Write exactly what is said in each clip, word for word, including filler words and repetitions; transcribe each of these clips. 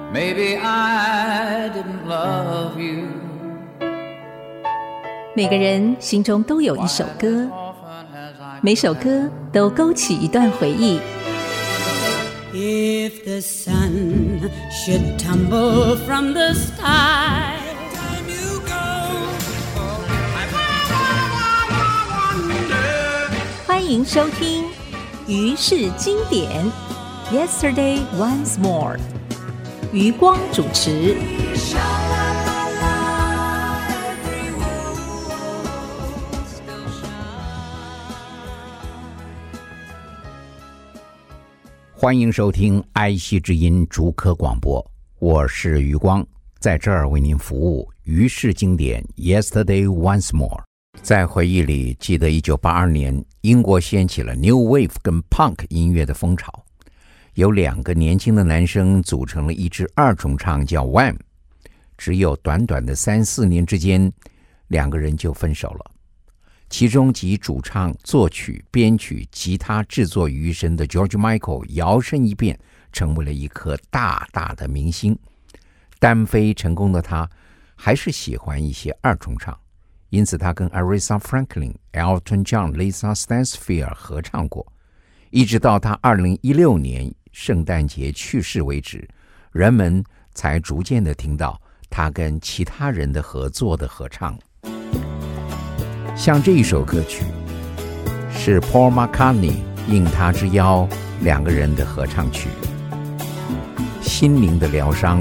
Maybe I didn't love you. 每個人心中都有一首歌，每首歌都勾起一段回憶。 If the sun should tumble from the sky, you go. 歡迎收聽於是經典 Yesterday Once More， 余光主持。 歡迎收聽哀惜之音竹科廣播，我是余光，在這兒為您服務。於是經典 Yesterday Once More。 在回憶裡，記得一九八二年英國掀起了 New Wave 跟 Punk 音樂的風潮，有兩個年輕的男生組成了一支二重唱叫 Wham。 只有短短的三四年之間，兩個人就分手了。其中集主唱、作曲、編曲、吉他制作於一身的 George Michael 摇身一變，成為了一顆大大的明星。單飛成功的他，還是喜歡一些二重唱，因此他跟 Aretha Franklin、Elton John、Lisa Stansfield 合唱過，一直到他二零一六年聖誕節去世為止，人們才逐漸的聽到他跟其他人的合作的合唱。像這一首歌曲是 Paul McCartney 應他之邀兩個人的合唱曲，心靈的療傷。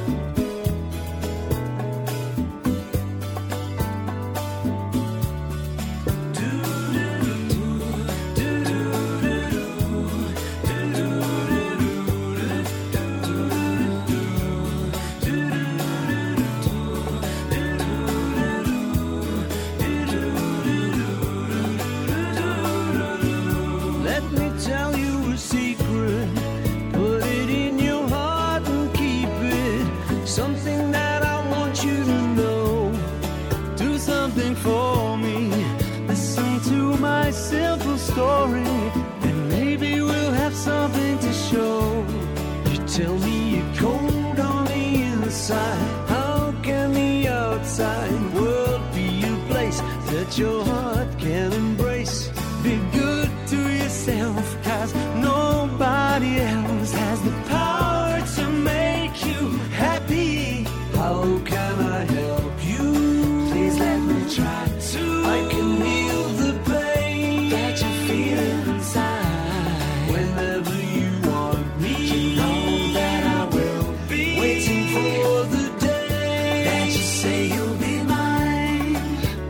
Your heart can embrace. Be good to yourself, 'cause nobody else has the power to make you happy. How can I help you? Please let me try to. I can heal the pain that you feel inside. Whenever you want me, you know that I will be waiting for the day that you say you'll be mine.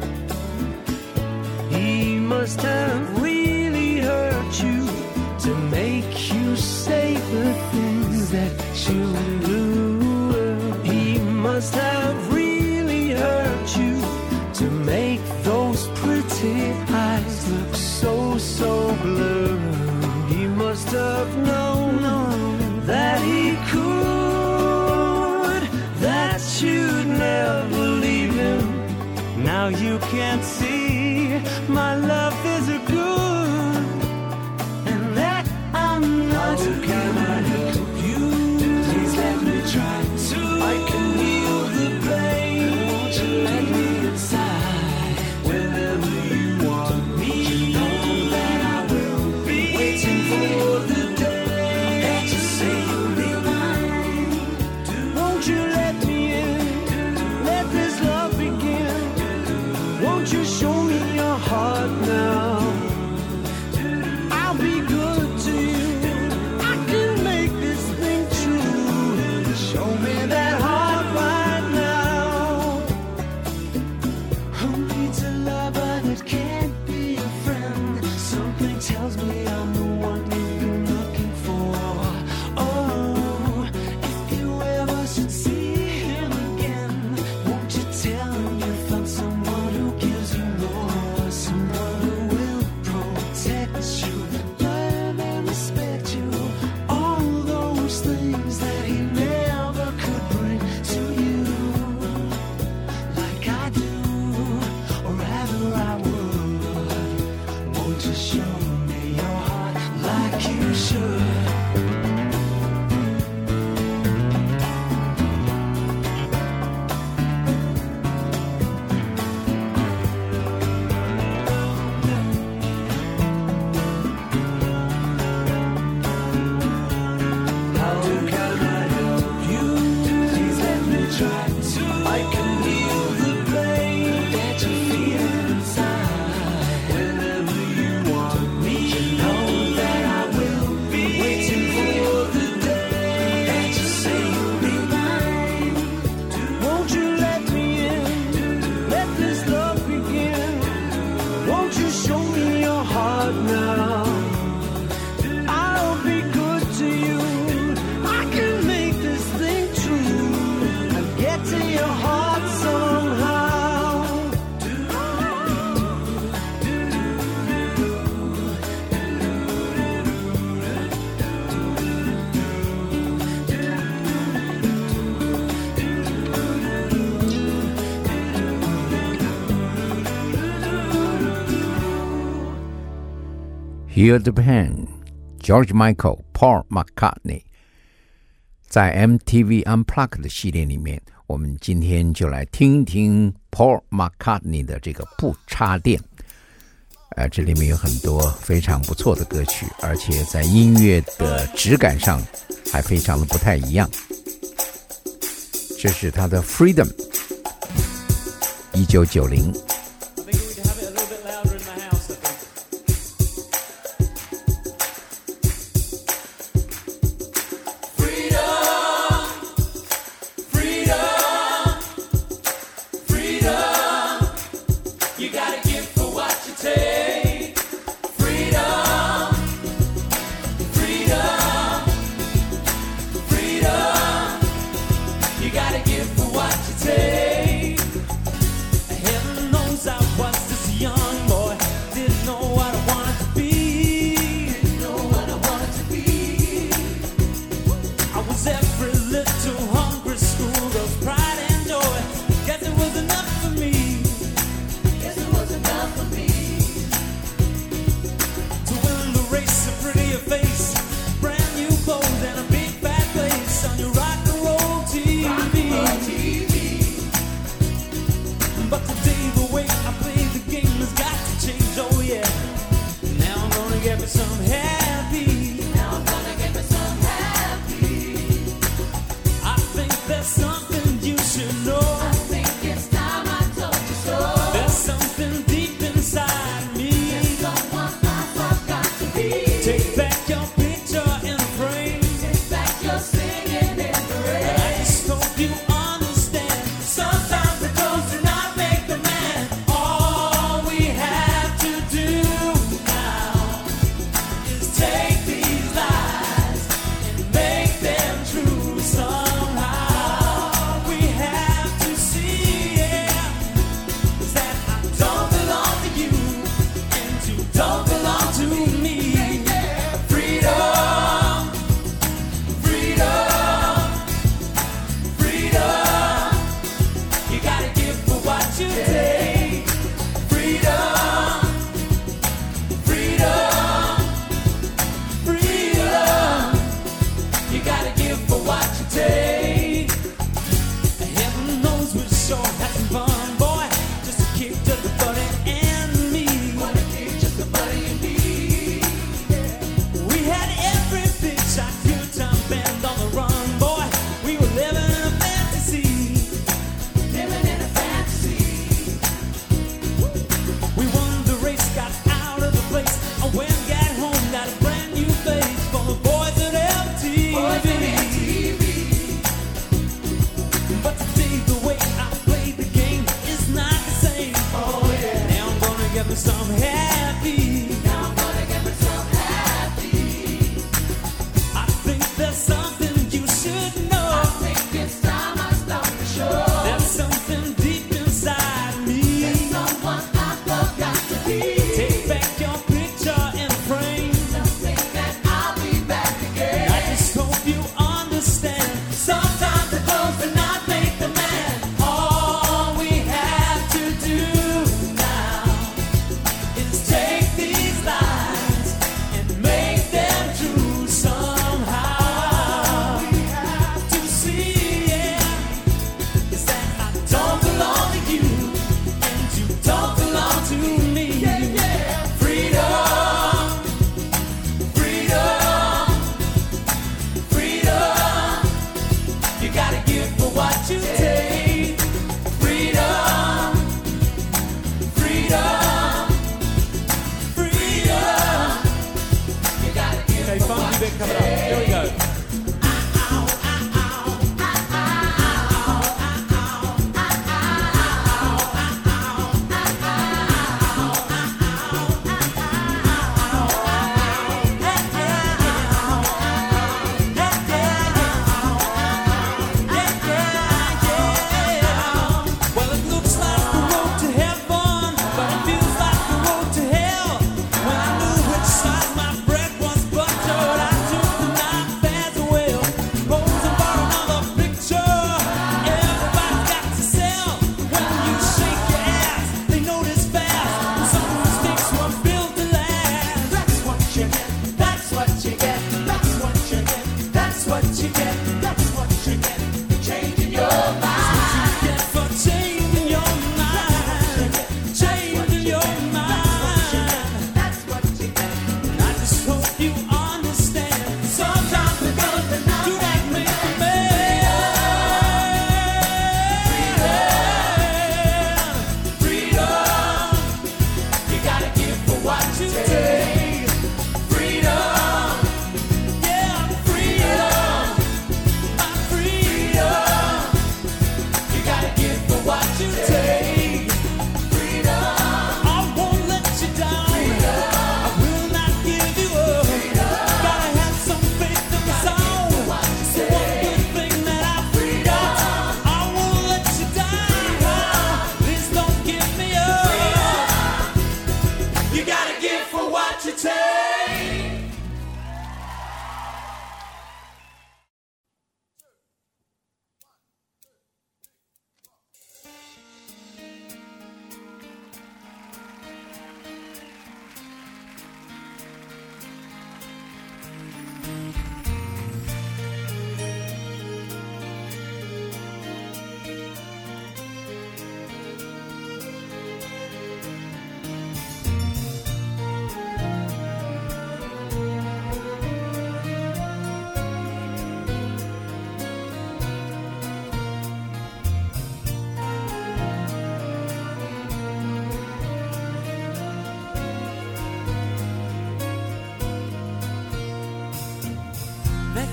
He must have really hurt you to make you say the things that you do. He must have really hurt you to make those pretty eyes look so, so blue. He must have known that he could, that you'd never leave him. Now you can't see my love is a good, and that I'm not. How can I help you? Please let me try to. I can heal the pain. Won't you let me inside? Whenever you want me, you know that I will be waiting for the day that you say you'll be mine. Won't you let me in? Let this love begin. Won't you show me Feel the Pain, George Michael, Paul McCartney。在 M T V Unplugged 的系列裡面，我們今天就來聽一聽 Paul McCartney 的這個不插電。呃，這裡面有很多非常不錯的歌曲，而且在音樂的質感上還非常的不太一樣。這是他的 Freedom， 一九九零。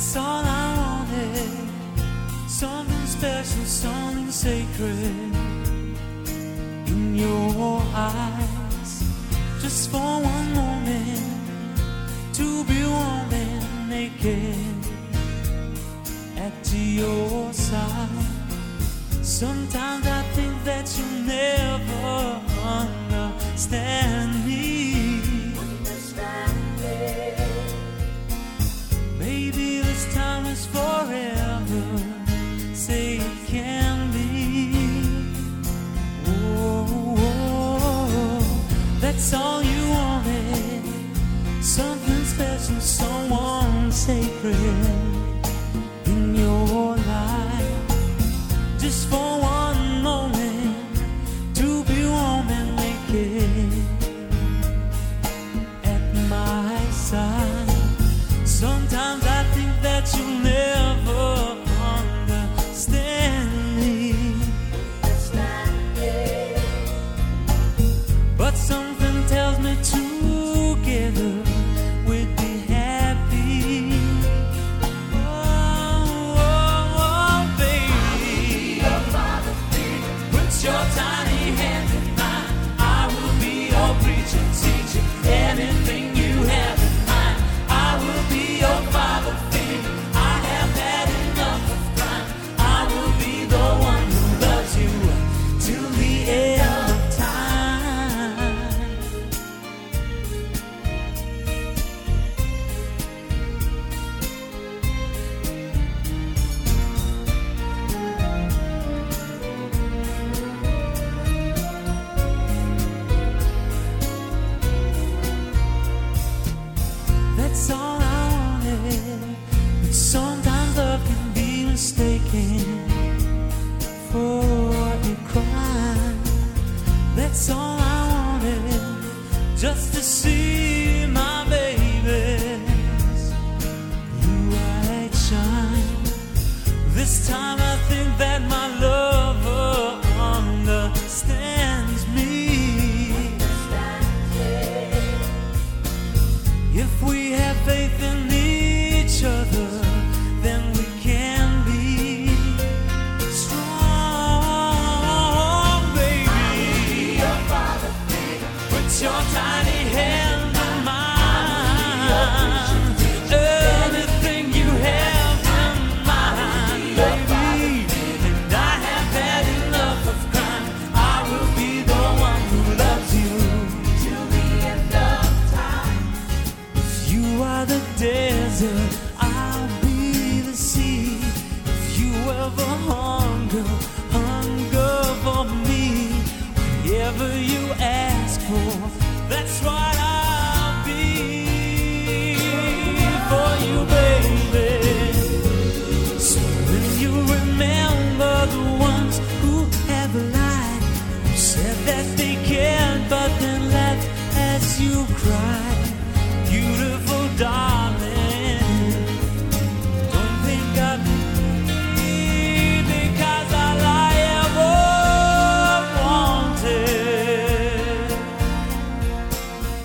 That's all I wanted. Something special, something sacred in your eyes. Just for one moment, to be warm and naked at your side. Sometimes I think that you'll never understand me. Understand me. Maybe this time is forever. Say it can be. Oh, oh, that's all you wanted. Something special, someone sacred in your life. Just for one moment, to be warm and naked at my side. Sometimes I think that you'll never understand me. But something tells me together we'd be happy. Oh, oh, oh, baby, put your tiny hand in mine. I will be your preacher, teacher, anything you have in mind. I will be your father figure. I have had enough of crime. I will be the one who loves you till the end of time. That's all I wanted. But sometimes love can be mistaken for a crime. That's all I wanted, just to see my baby's blue-eyed shine. This time I think that my lover understands me. If we have faith in each other, then we can be strong, baby. Put your tiny hand in mine. Anything you have in mind, baby. And I have had enough of crime. I will be the one who loves you till the end of time. If you are the desert, I'll be the sea. If you ever hunger, hunger for me, whatever you ask for, that's what I'll be for you, baby. So when you remember the ones who have lied, who said that they cared but then left as you cried, beautiful darling, don't think of me because all I ever wanted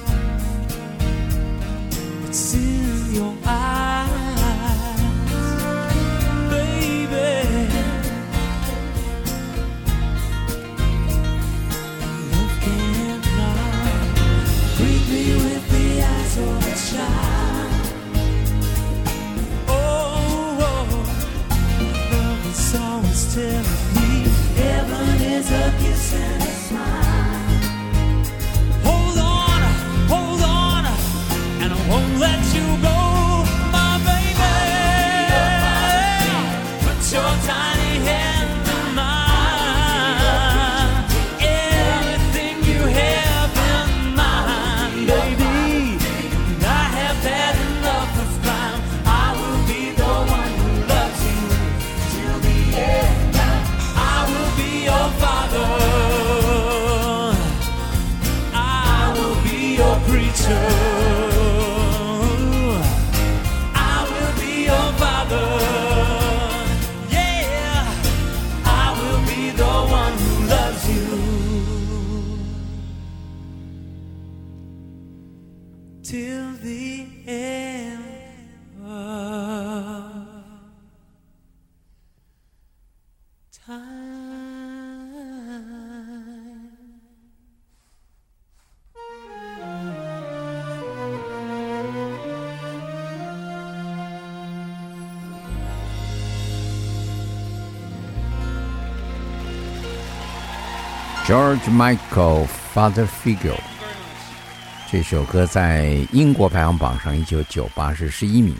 George Michael Father Figure 這首歌在英國排行榜上一九九八是十一名，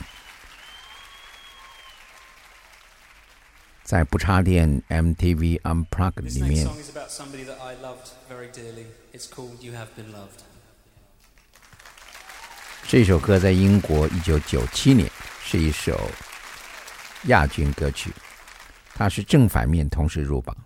在不插電 M T V Unplugged 裡面。這首歌在英國一九九七年是一首亞軍歌曲，它是正反面同時入榜。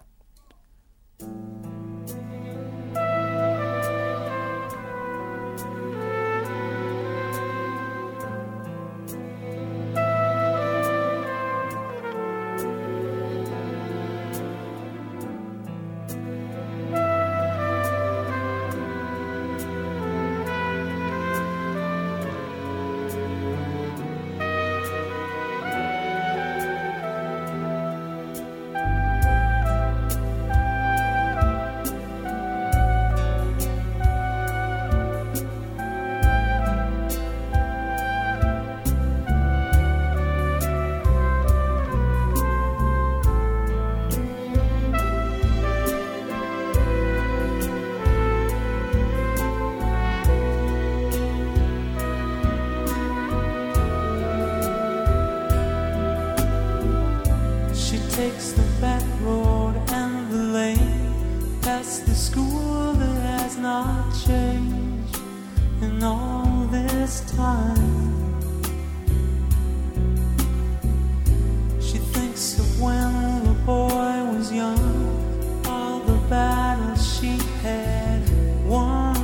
Takes the back road and the lane past the school that has not changed in all this time. She thinks of when the boy was young, all the battles she had won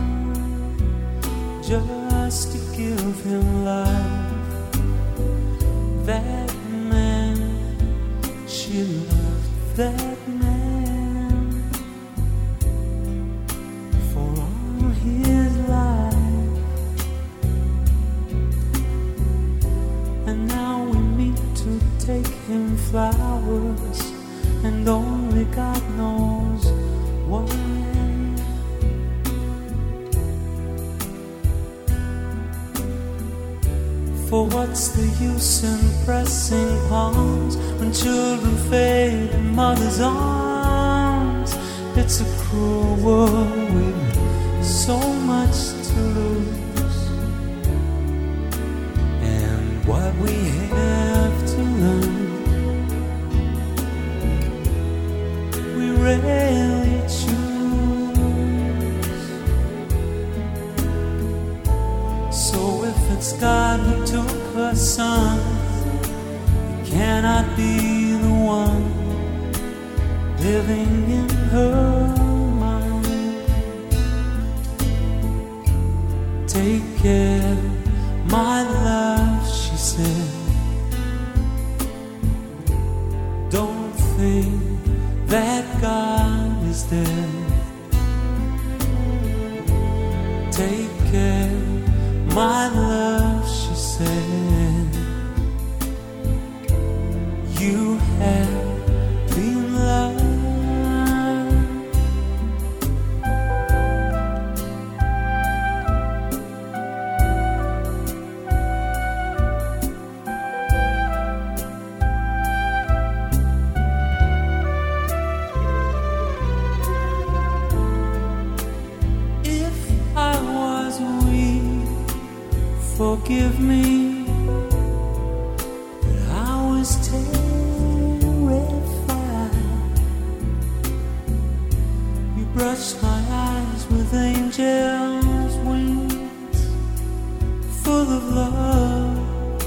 just to give him life. That she loved that man for all his life, and now we meet to take him flowers, and only God knows why. For what's the use in pressing palms when children fade in mother's arms? It's a cruel world with so much to lose, and what we have to learn, we rarely choose. So if it's God who took her son, he cannot be the one living in her mind. Take care, my love, she said. Don't think that God is dead. Take care, my love, she said. You have been loved. If I was weak, forgive me, but I was terrified. You brushed my eyes with angels' wings, full of love,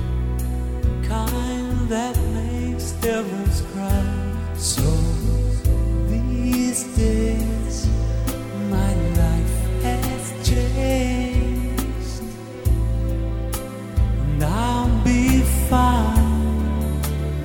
kind that makes devils cry. So these days my life has changed, and I'll be fine.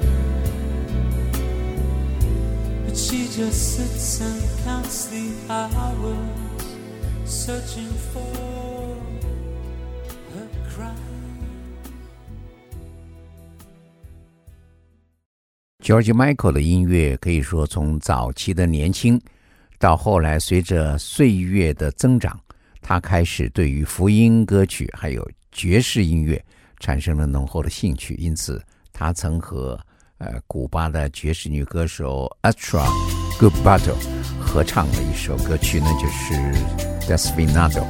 But she just sits and counts the hours, searching for her crime. George Michael 的音樂可以說從早期的年輕到後來隨着歲月的增長，他開始對於福音歌曲還有爵士音樂產生了濃厚的興趣，因此他曾和呃古巴的爵士女歌手 Astrud Gilberto 合唱了一首歌曲呢，就是 Desperado。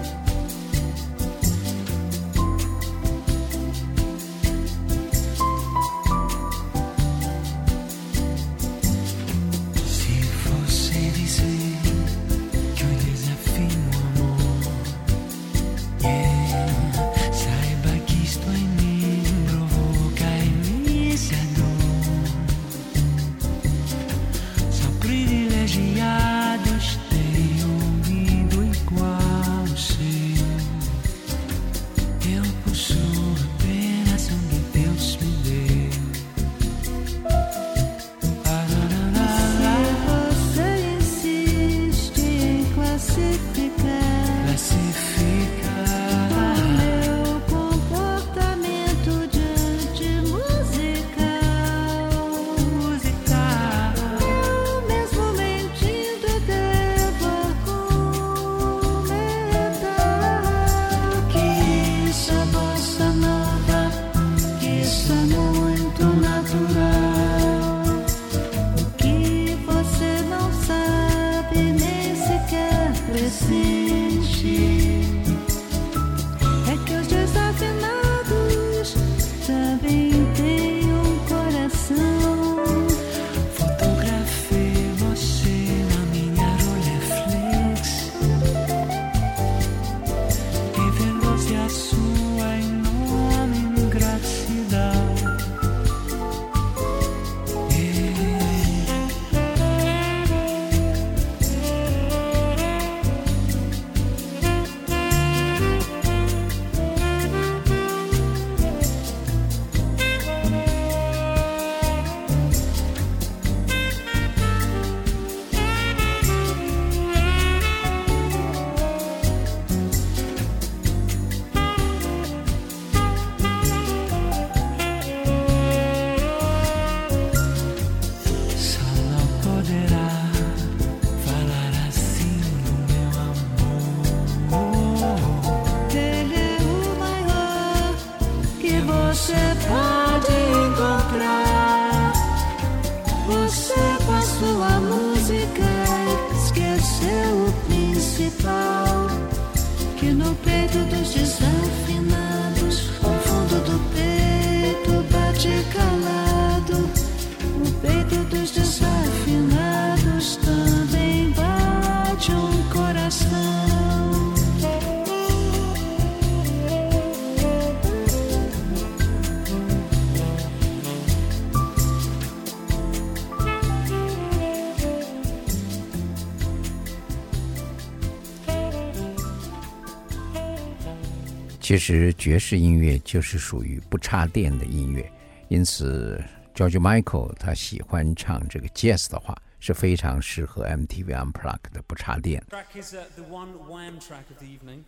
其實爵士音樂就是屬於不插電的音樂，因此 George Michael 他喜歡唱這個 jazz 的話，是非常適合 M T V Unplugged 的不插電。 Track is uh, the one Wham track of the evening.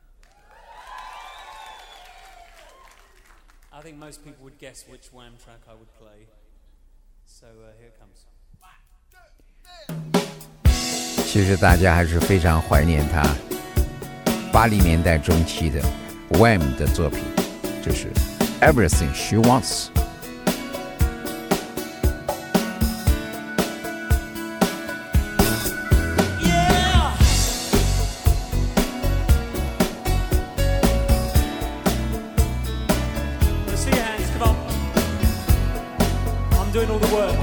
I think most people would guess which Wham track I would play. So uh, here it comes. 其實大家還是非常懷念他八零年代中期的 Wham 的作品，就是 Everything She Wants。 Doing all the work.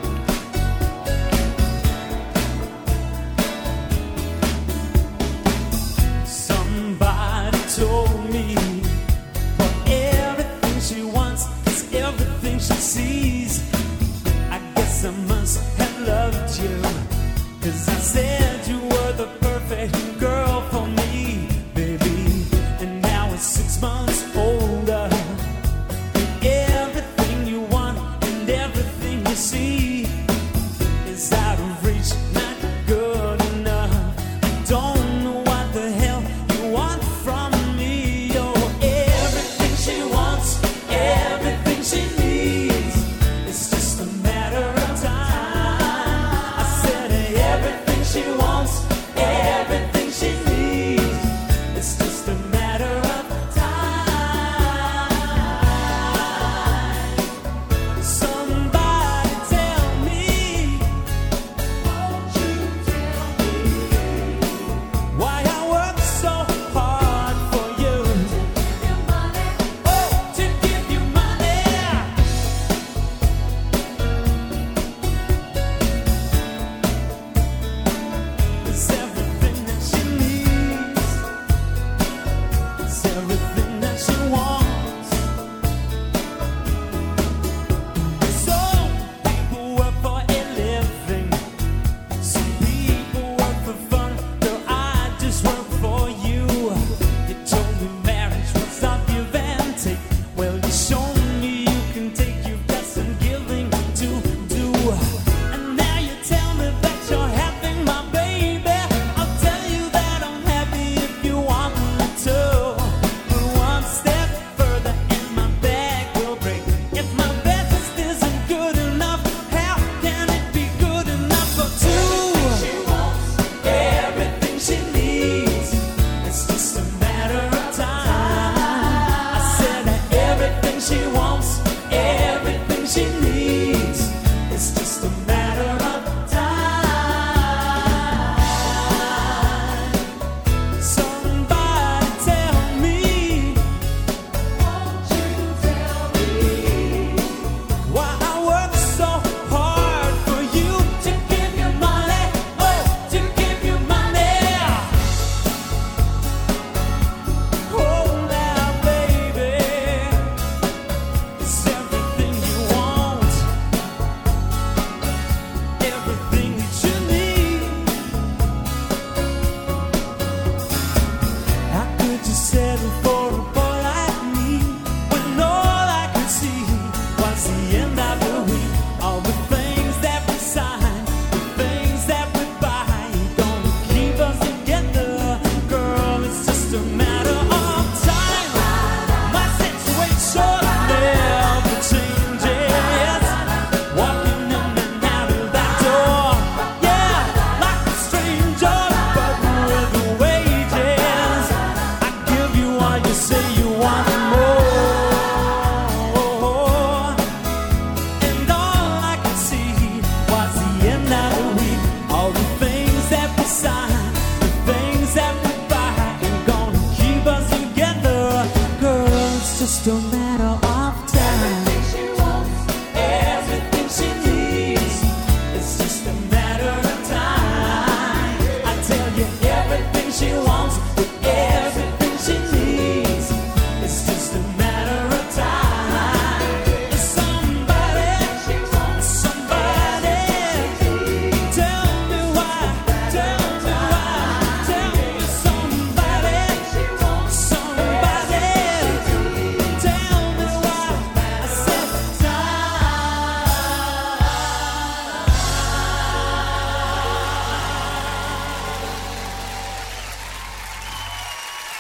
Somebody told me for everything she wants is everything she sees. I guess I must have loved you, 'cause I said you were the perfect girl for me, baby. And now it's six months older. See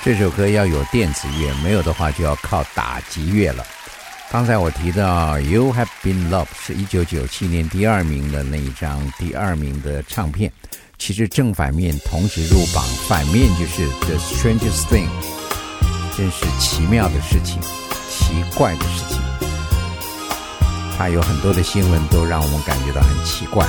這首歌要有電子樂，沒有的話就要靠打擊樂了。剛才我提到 You Have Been Loved 是一九九七年第二名的那一張第二名的唱片，其實正反面同時入榜，反面就是 The Strangest Thing， 真是奇妙的事情，奇怪的事情。它有很多的新聞都讓我們感覺到很奇怪。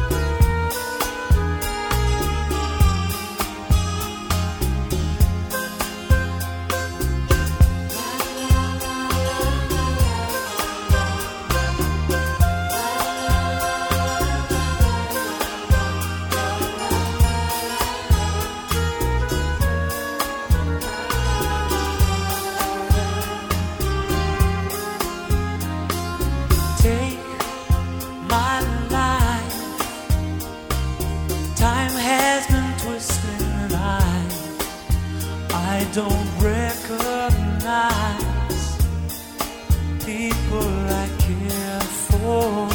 Don't recognize people I care for.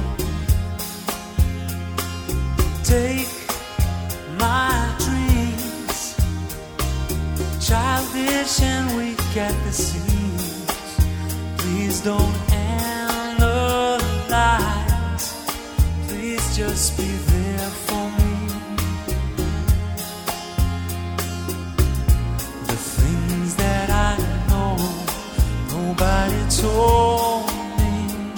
Take my dreams, childish and weak at the seams. Please don't analyze. Please just be there for me. Nobody told me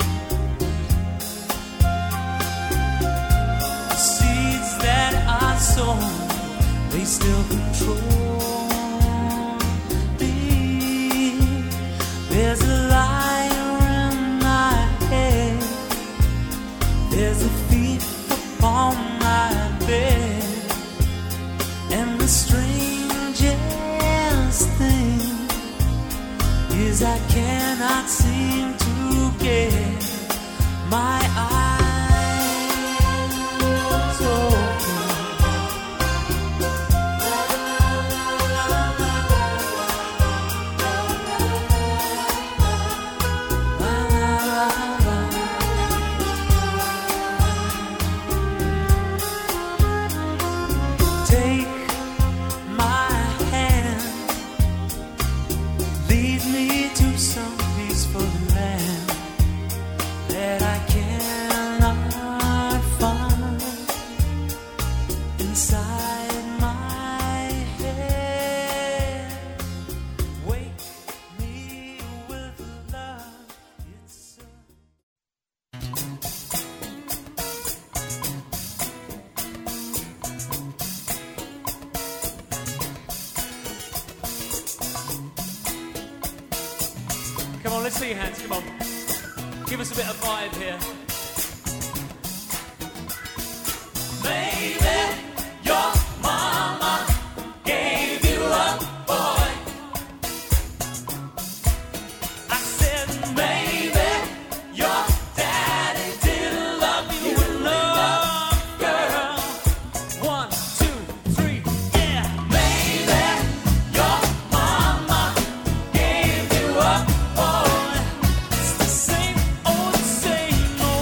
the seeds that I sown, they still control me. There's a liar in my head, there's a thief upon my bed, and the strangest thing is I cannot seem to get my eyes open. Take my hand, lead me to some peaceful land that I cannot find inside my head. Wake me with love. It's a Come on, let's see your hands, come on. Give us a bit of vibe here. Baby, your mama gave you a boy. I said, baby, your daddy didn't love you enough, girl. One, two, three, yeah. Baby, your mama gave you a boy. It's the same old, same old.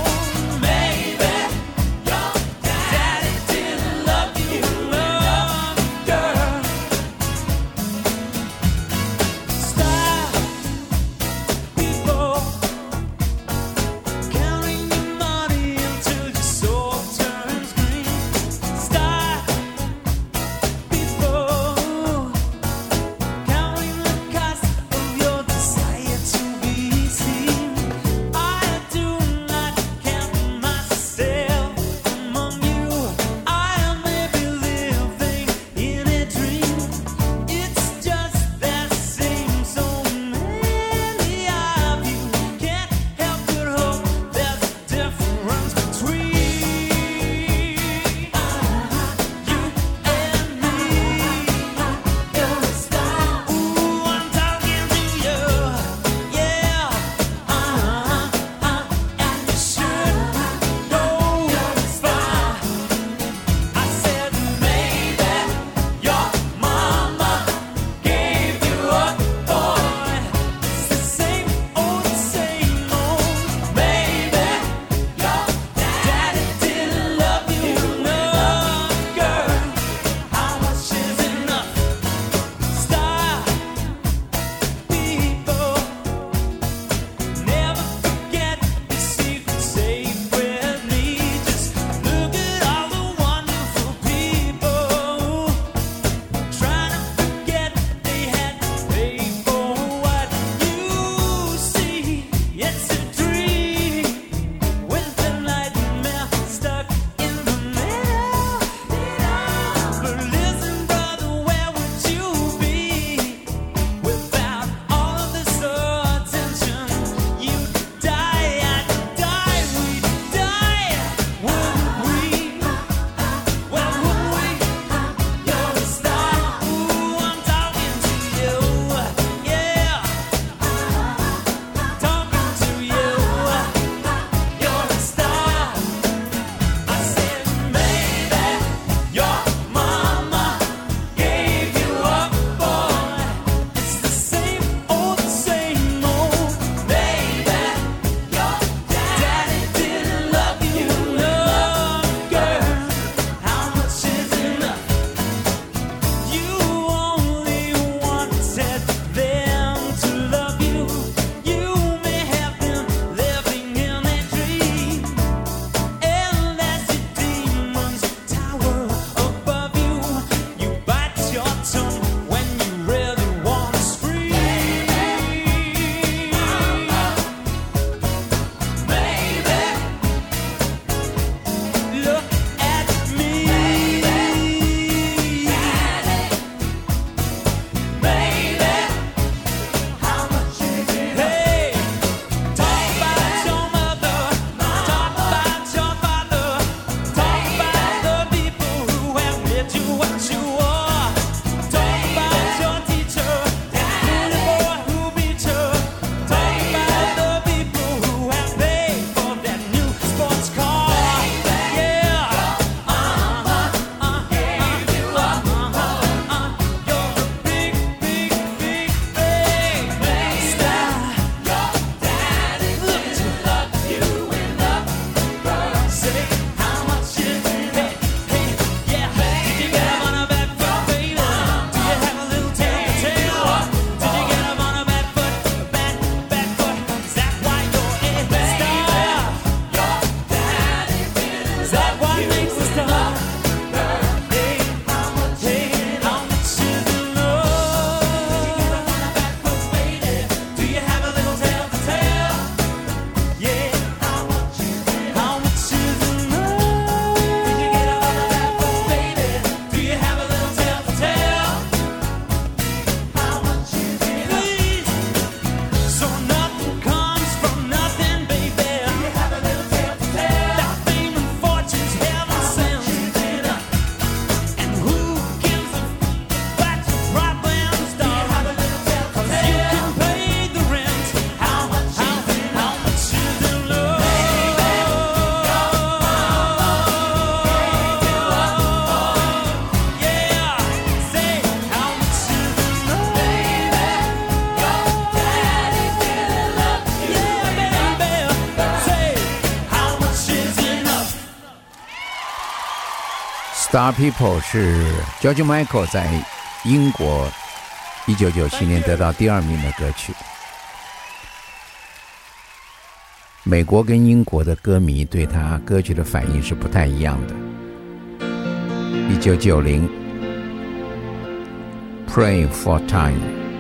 Star People 是 George Michael 在英國一九九七年得到第二名的歌曲。美國跟英國的歌迷对他歌曲的反应是不太一樣的。一九九零 Pray for Time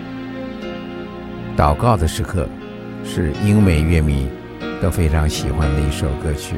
禱告的時刻是英美樂迷都非常喜歡的一首歌曲。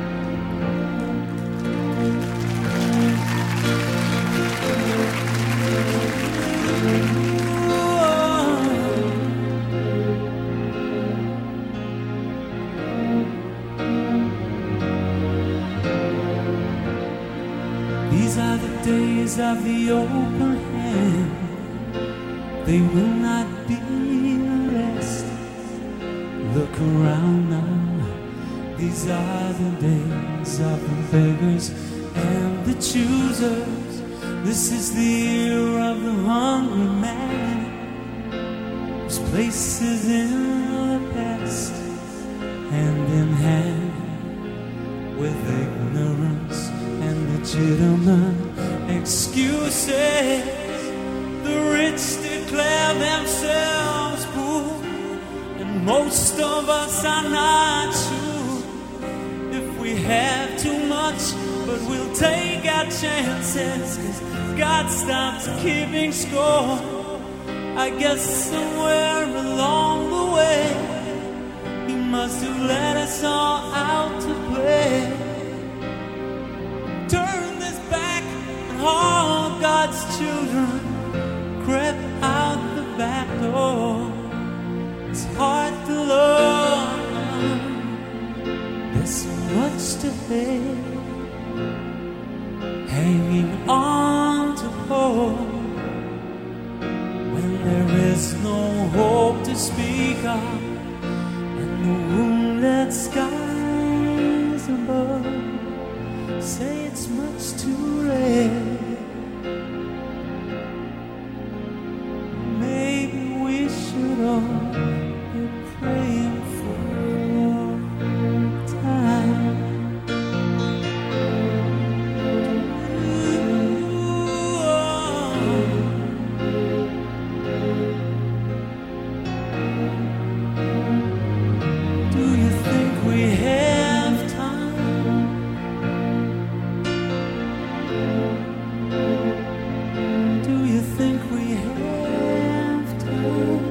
These are the days of the open hand. They will not be less. Look around now. These are the days of the beggars and the choosers. This is the year of the hungry man, whose place is in the past, hand in hand with ignorance and legitimate excuses. The rich declare themselves poor, and most of us are not sure if we have too much, but we'll take our chances, 'cause God stops keeping score. I guess somewhere along the way He must have let us all out to play. Turn this back, and all God's children crept out the back door. It's hard to love. There's so much to hate, hanging on to hope when there is no hope to speak of, and the moonlit skies above say it's much too late. Maybe we should all be praying for time. Do you think we have time? Do you think we have time?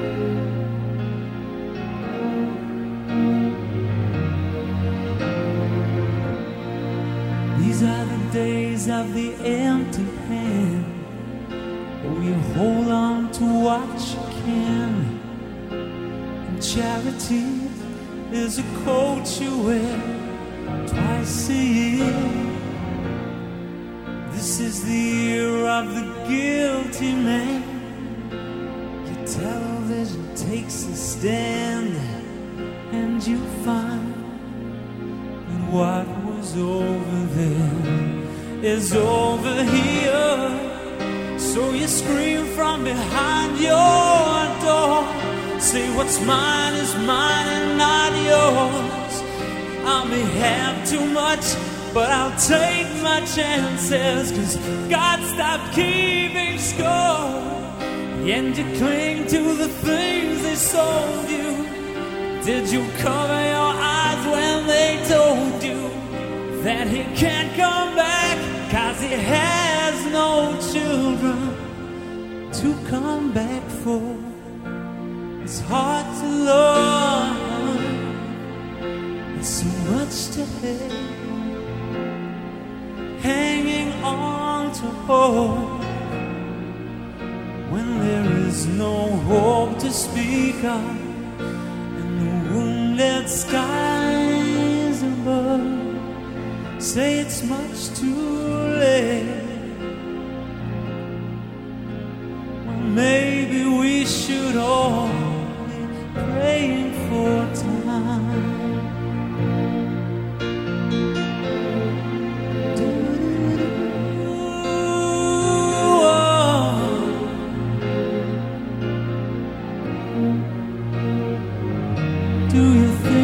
These are the days of the empty hand. Oh, you hold on to what you can, and charity is a coat you wear twice a year. This is the year of the guilty man. Your television takes a stand, and you find that what was over there is over here. So you scream from behind your door, say what's mine is mine and not yours. I may have too much, but I'll take my chances, 'cause God stopped keeping score. And you cling to the things they sold you. Did you cover your eyes when they told you that He can't come back, 'cause He has no children to come back for? It's hard to love, it's so much to hate, hanging on to hope when there is no hope to speak of, and the moonlit skies above say it's much too late. Well, maybe we should all be praying for time. Do you think